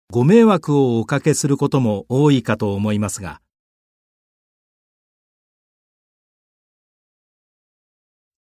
ご迷惑をおかけすることも多いかと思いますが、